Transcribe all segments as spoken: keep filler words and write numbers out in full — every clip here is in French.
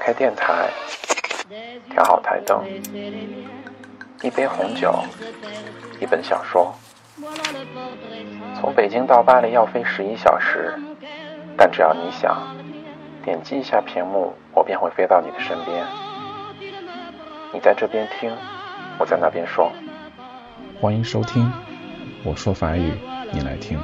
开电台，调好台灯，一杯红酒，一本小说。从北京到巴黎要飞十一小时，但只要你想，点击一下屏幕，我便会飞到你的身边。你在这边听，我在那边说。 欢迎收听，我说法语，你来听。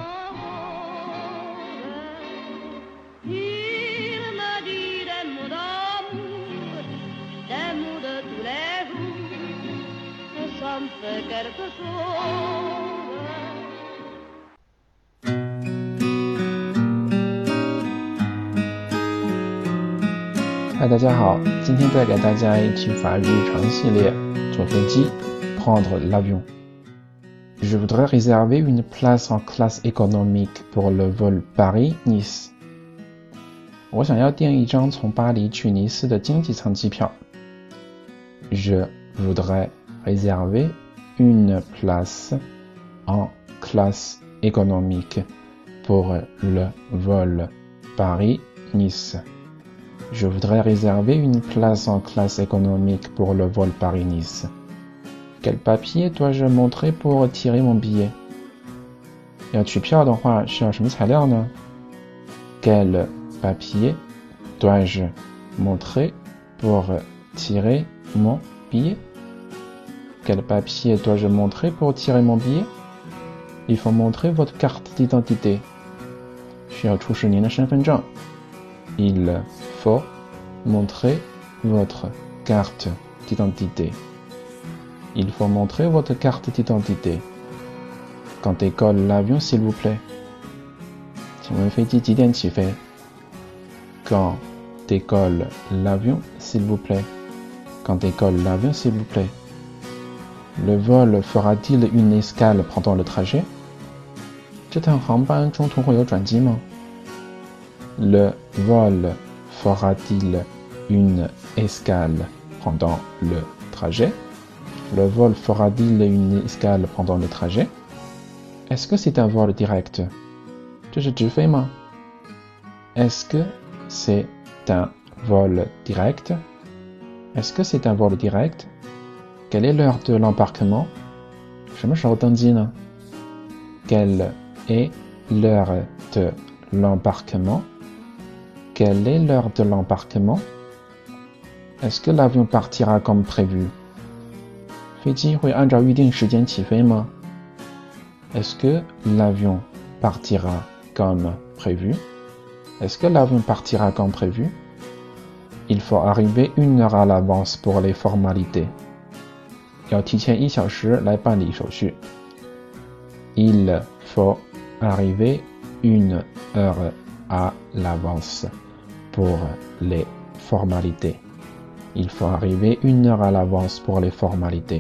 嗨，大家好，今天带给大家一期法语日常系列，坐飞机 prendre l'avion。Je voudrais réserver une place en classe économique pour le vol Paris-Nice. 我想要订一张从巴黎去尼斯的经济舱机票。Je voudrais réserver une place en classe économique pour le vol Paris-Nice. Je voudrais réserver une place en classe économique pour le vol Paris-Nice. Quel papier dois-je montrer pour retirer mon billet? 要取票的话，需要什么材料呢？ Quel papier dois-je montrer pour tirer mon billet? Quel papier dois-je montrer pour tirer mon billet? Il faut montrer votre carte d'identité. 需要出示您的身份证。Il faut montrer votre carte d'identité. Il faut montrer votre carte d'identité. Quand décolle l'avion, s'il vous plaît? 请问飞机几点起飞？ Quand décolle l'avion, s'il vous plaît? Quand décolle l'avion, s'il vous plaît? Le vol fera-t-il une escale pendant le trajet? 这趟航班中途会有转机吗？ Le vol fera-t-il une escale pendant le trajet? Le vol fera-t-il une escale pendant le trajet? Est-ce que c'est un vol direct? 这是直飞吗？ Est-ce que c'est un vol direct? Est-ce que c'est un vol direct? Quelle est l'heure de l'embarquement? 什么时候登机呢？ Quelle est l'heure de l'embarquement? Quelle est l'heure de l'embarquement? Est-ce que l'avion partira comme prévu? 飞机会按照预定时间起飞吗？ Est-ce que l'avion partira comme prévu? Est-ce que l'avion partira comme prévu? Il faut arriver une heure à l'avance pour les formalités. 要提前一小时来办理手续。Il faut arriver une heure à l'avance pour les formalités. Il faut arriver une heure à l'avance pour les formalités.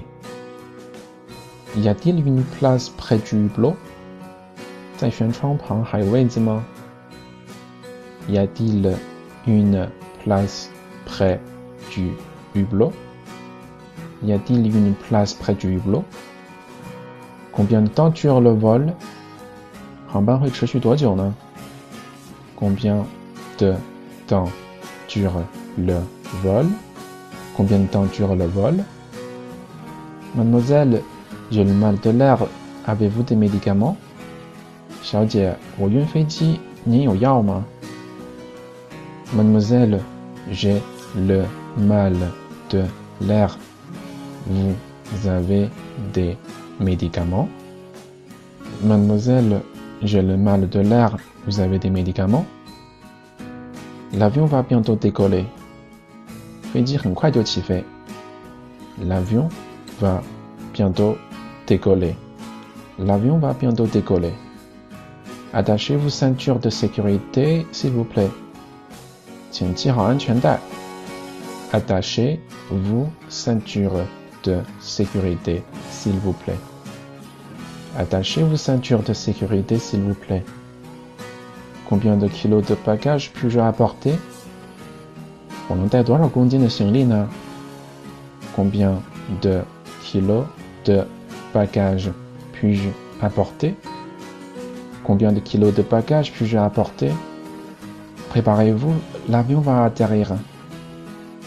Y a-t-il une place près du hublot? 在舷窗旁还有位子吗？ Y a-t-il une place près du hublot? Y a-t-il une place près du hublot? Combien de temps dure le vol? 航班会持续多久呢？ Combien de temps dure le vol? Combien de temps dure le vol? Mademoiselle, j'ai le mal de l'air. Avez-vous des médicaments? 小姐，我晕飞机，您有药吗？ Mademoiselle, j'ai le mal de l'air. Vous avez des médicaments? Mademoiselle, j'ai le mal de l'air. Vous avez des médicaments? L'avion va bientôt décoller. 飞机很快就起飞。L'avion va bientôt décoller. L'avion va bientôt décoller. Attachez vos ceintures de sécurité, s'il vous plaît. 请系好安全带。Attachez vos ceintures de sécurité, s'il vous plaît. Attachez vos ceintures de sécurité, s'il vous plaît. Combien de kilos de bagages puis-je apporter? 我能带多少公斤的行李呢？ Combien de kilos de bagages puis-je apporter? Combien de kilos de bagages puis-je apporter? Préparez-vous, l'avion va atterrir.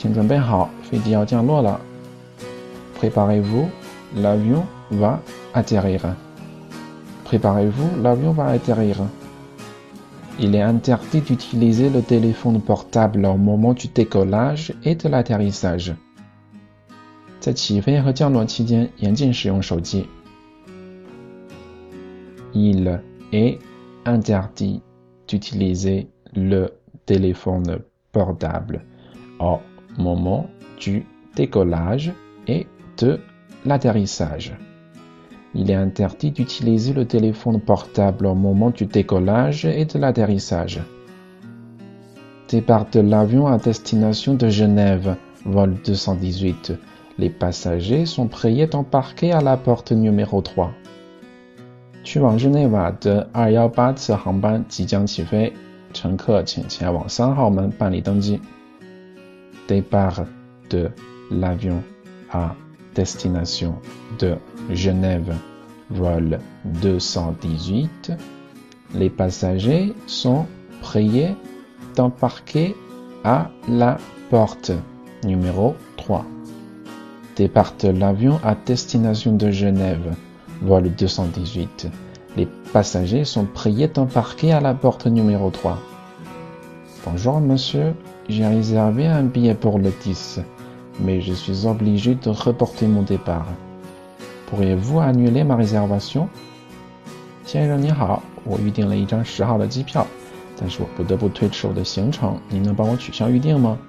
请准备好，飞机要降落了。Préparez-vous, l'avion va atterrir. Préparez-vous, l'avion va atterrir. Il est interdit d'utiliser le téléphone portable au moment du décollage et de l'atterrissage. 在起飞和降落期间，严禁使用手机。Il est interdit d'utiliser le téléphone portable au moment du décollage et de l'atterrissage. Il est interdit d'utiliser le téléphone portable au moment du décollage et de l'atterrissage. Départ de l'avion à destination de Genève, vol deux cent dix-huit. Les passagers sont priés d'embarquer à la porte numéro trois. 去往日内瓦的二一八次航班即将起飞，乘客请前往三号门办理登机。Départ de l'avion à destination de Genève, vol deux cent dix-huit. Les passagers sont priés d'embarquer à la porte numéro trois. Départ de l'avion à destination de Genève, vol deux cent dix-huit. Les passagers sont priés d'embarquer à la porte numéro trois. Bonjour monsieur, j'ai réservé un billet pour le dix, mais je suis obligé de reporter mon départ. Pourriez-vous annuler ma réservation? 先生你好，我预订了一张十号的机票，但是我不得不推迟我的行程，您能帮我取消预订吗？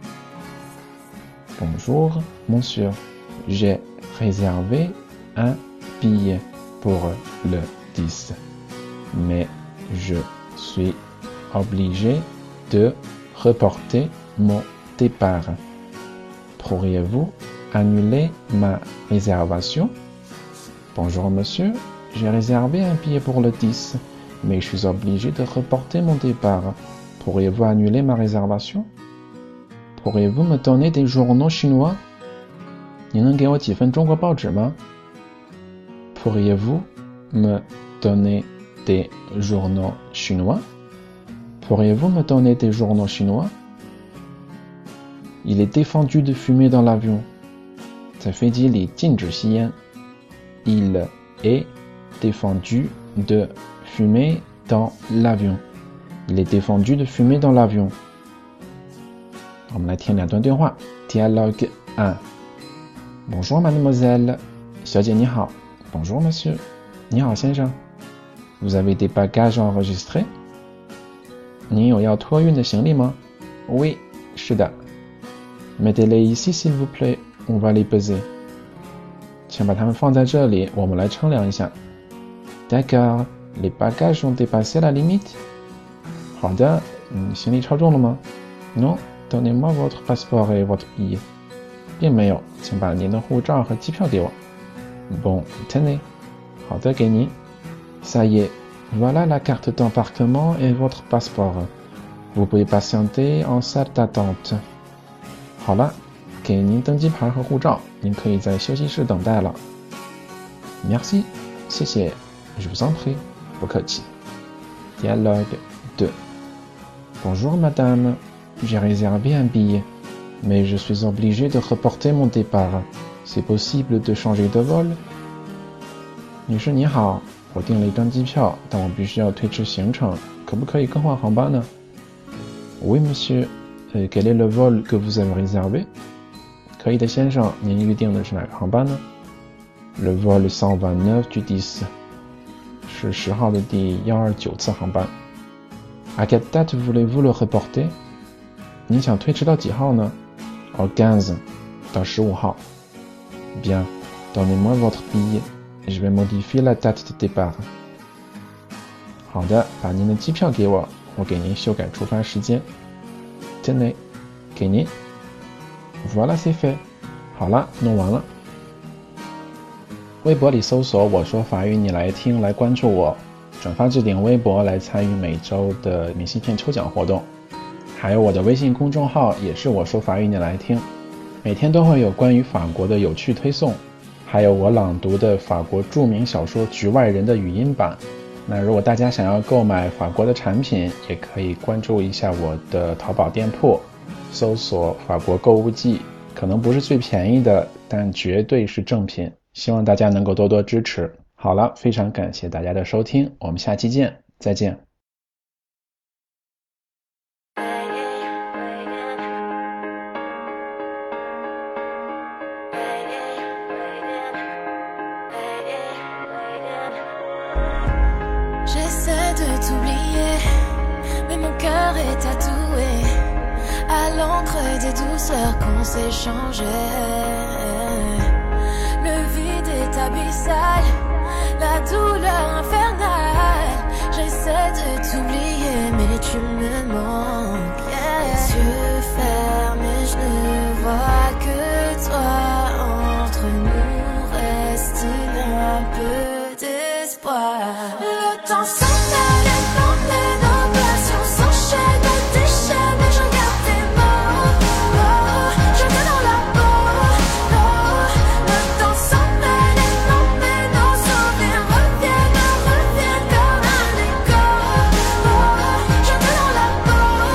Bonjour, monsieur. J'ai réservé un billet pour le dix, mais je suis obligé de reporter mon départ. Pourriez-vous annuler ma réservation? Bonjour, monsieur. J'ai réservé un billet pour le dix, mais je suis obligé de reporter mon départ. Pourriez-vous annuler ma réservation?Pourriez-vous me donner des journaux chinois? 你能给我几份中国报纸吗？ Pourriez-vous me donner des journaux chinois? Pourriez-vous me donner des journaux chinois? Il est défendu de fumer dans l'avion. 在飞机里禁止吸烟。Il est défendu de fumer dans l'avion. Il est défendu de fumer dans l'avion.我们来听两段对话。Dialogue un. Bonjour mademoiselle. 小姐你好。Bonjour monsieur. 你好先生。Vous avez des bagages enregistrés? 您有要托运的行李吗？ Oui, 是的。Mettez-les ici s'il vous plaît. On va les peser. 请把它们放在这里，我们来称量一下。D'accord. Les bagages ont dépassé la limite? 好的，嗯，行李超重了吗？ Non.Donnez-moi votre passeport et votre billet. 并没有，请把您的护照和机票给我。Bon, tenez. 好的，给您。Ça y est, voilà la carte d'embarquement et votre passeport. Vous pouvez patienter en salle d'attente. 好了，给您登机牌和护照，您可以在休息室等待了。Merci, 谢谢。Je vous en prie. 不客气。Dialogue deux. Bonjour madame.J'ai réservé un billet, mais je suis obligé de reporter mon départ. C'est possible de changer de vol? 女士你好，我订了一张机票，但我必须要推迟行程，可不可以更换航班呢？ Oui, monsieur. Et quel est le vol que vous avez réservé? 可以的，先生，您预定的是哪个航班呢？ Le vol cent vingt-neuf du dix. 是十号的第一二九次航班。À quelle date voulez-vous le reporter?您想推迟到几号呢？ Au quinze, 到十五号。Bien, donnez-moi votre billet. Je vais modifier la date de départ. 好的，把您的机票给我，我给您修改出发时间。Tenez, 给您。Voilà, c'est fait. 好了，弄完了。微博里搜索我说法语你来听，来关注我，转发置顶微博来参与每周的明信片抽奖活动。还有我的微信公众号也是我说法语你来听，每天都会有关于法国的有趣推送，还有我朗读的法国著名小说《局外人》的语音版。那如果大家想要购买法国的产品，也可以关注一下我的淘宝店铺， 搜索法国购物季，可能不是最便宜的，但绝对是正品，希望大家能够多多支持。好了，非常感谢大家的收听，我们下期见，再见。 J'essaie de t'oublier, mais mon cœur est tatoué à l'encre des douceurs qu'on s'échangeait. Le vide est abyssal, la douleur infernale. J'essaie de t'oublier, mais tu me manques. Yeah. Les yeux fermés, je ne vois que toi. Entre nous reste-t-il un peu d'espoir? Le temps s'emmène et m'emmène, nos passions s'enchaînent, nos déchaînent, mais je garde tes mots. Oh, je t'ai dans la peau. Oh, le temps s'emmène et m'emmène, nos souvenirs reviennent, reviennent comme un écho. Oh, je t'ai dans la peau.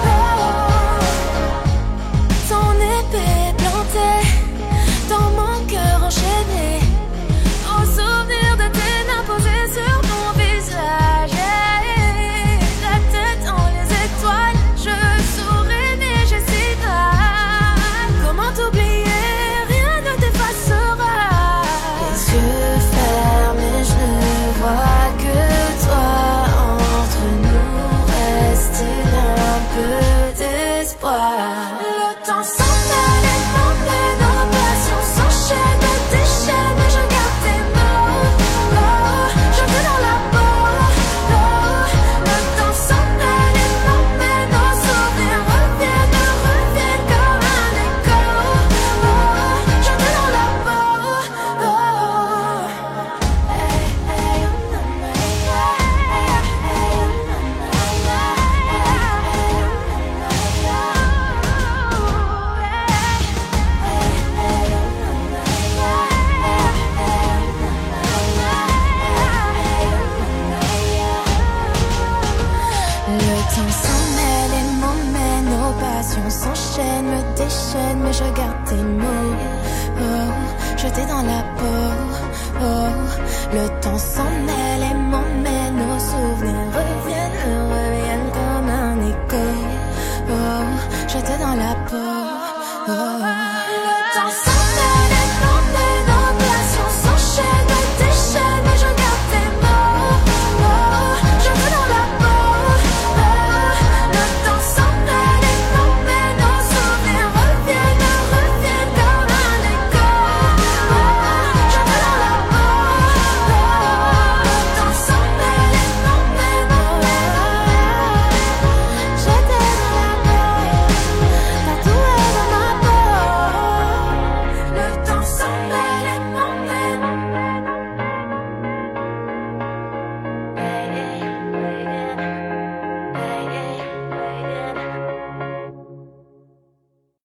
Oh, ton épée plantée dans mon cœur enchaîné, aux souvenirs de tes mains posées sur mon visage. Hey, la tête dans les étoiles, je souris mais je sais pas comment t'oublier, rien ne t'effacera. Les yeux fermés, je ne vois que toi. Entre nous reste-t-il un peu d'espoir? Le temps s'emmène et m'emmène, nos passions s'enchaînent, nos déchaînent, mais je garde tes mots. Oh, je t'ai dans la peau. Oh, le temps s'emmène et m'emmène, nos souvenirs reviennent, reviennent comme un écho. Oh, je t'ai dans la peau. Oh, hey, hey, oh, na, na, yeah. Hey, hey, oh, na, na, yeah. Hey, hey, oh, na, na, Le temps s'emmène et m'emmène, nos passions s'enchaînent, me déchaînent, mais je garde tes mots. Oh, je t'ai dans la peau. Oh, le temps s'emmène et m'emmène, nos souvenirs reviennent, reviennent comme un écho. Oh, je t'ai dans la peau. Oh, le temps s'emmène